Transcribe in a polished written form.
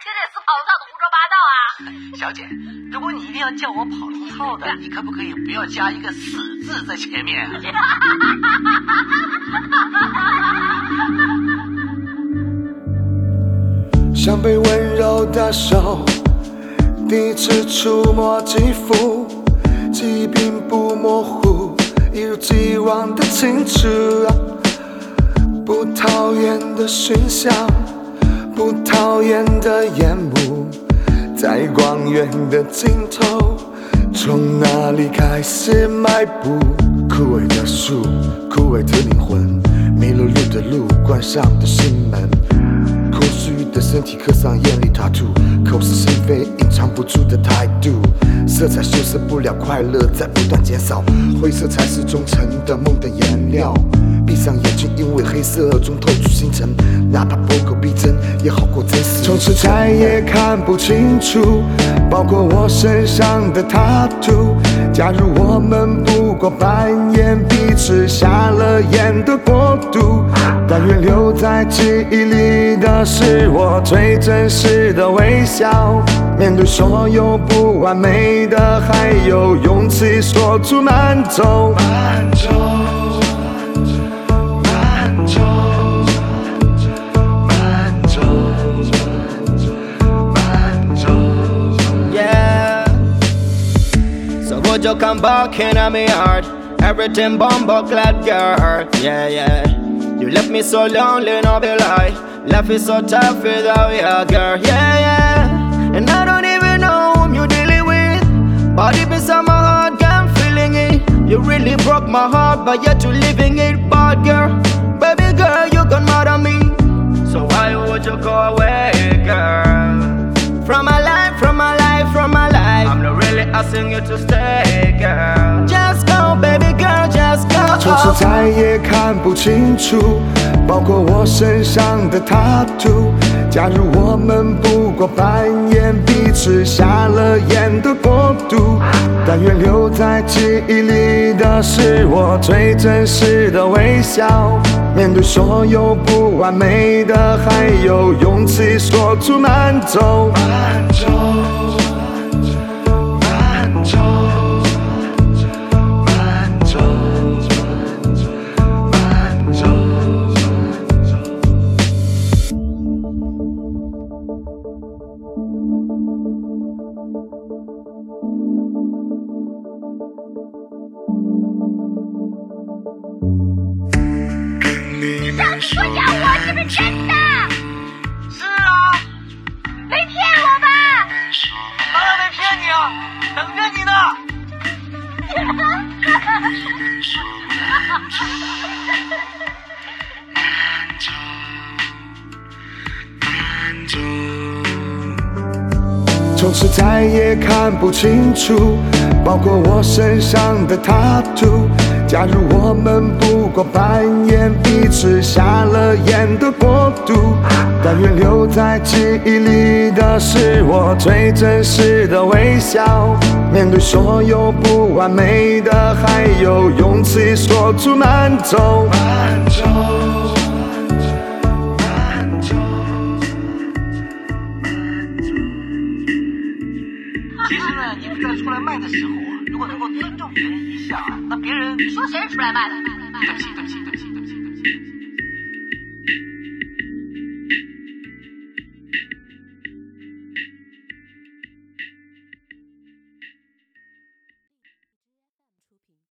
听这死跑龙套的胡说八道啊！ 小姐，如果你一定要叫我跑龙套的，你可不可以不要加一个死字在前面啊？ 像被温柔的手第一次触摸肌肤，记忆并不模糊，一如既往的清楚啊，不讨厌的熏香，不讨厌的烟幕，在光源的尽头，从哪里开始迈步？枯萎的树，枯萎的灵魂，迷了路的路，关上的心门，空虚的身体刻上艳丽塔图，口是心非，隐藏不住的态度，色彩修饰不了快乐，在不断减少，灰色才是忠诚的梦的颜料。闭上眼睛，因为黑色中透出星辰，哪怕不够逼真，也好过真实。从此再也看不清楚，包括我身上的塔图。假如我们不过扮演彼此瞎了眼的国度，但愿留在记忆里的是我最真实的微笑。面对所有不完美的，还有勇气说出慢走。慢走 Would you come back in my heart? Everything bumble clad girl, yeah, yeah. You left me so lonely, no be lie. Life is so tough without you, girl, yeah, yeah. And I don't even know whom you're dealing with, but deep inside my heart, I'm feeling it. You really broke my heart, but yet you're living it, bad girl. Baby girl, you got mad at me, so why would you go away, girl? From my life, from my life, from my life. I'm not really asking you to stay, girl. Just go, baby girl, just go. 从此再也看不清楚，包括我身上的塔图。假如我们不过扮演彼此瞎了眼的国度，但愿留在记忆里的是我最真实的微笑。面对所有不完美的，还有勇气说出慢走。慢走让你说下我是不是真的？ 是啊， 没骗我吧？ 当然没骗你啊，等着你呢。 从此再也看不清楚，包括我身上的塔图。假如我们不过扮演彼此瞎了眼的国度，但愿留在记忆里的是我最真实的微笑。面对所有不完美的，还有勇气说出慢走。慢走其实呢，你们在出来卖的时候啊，如果能够尊重别人一下，那别人你说谁是出来卖的？ 对不起，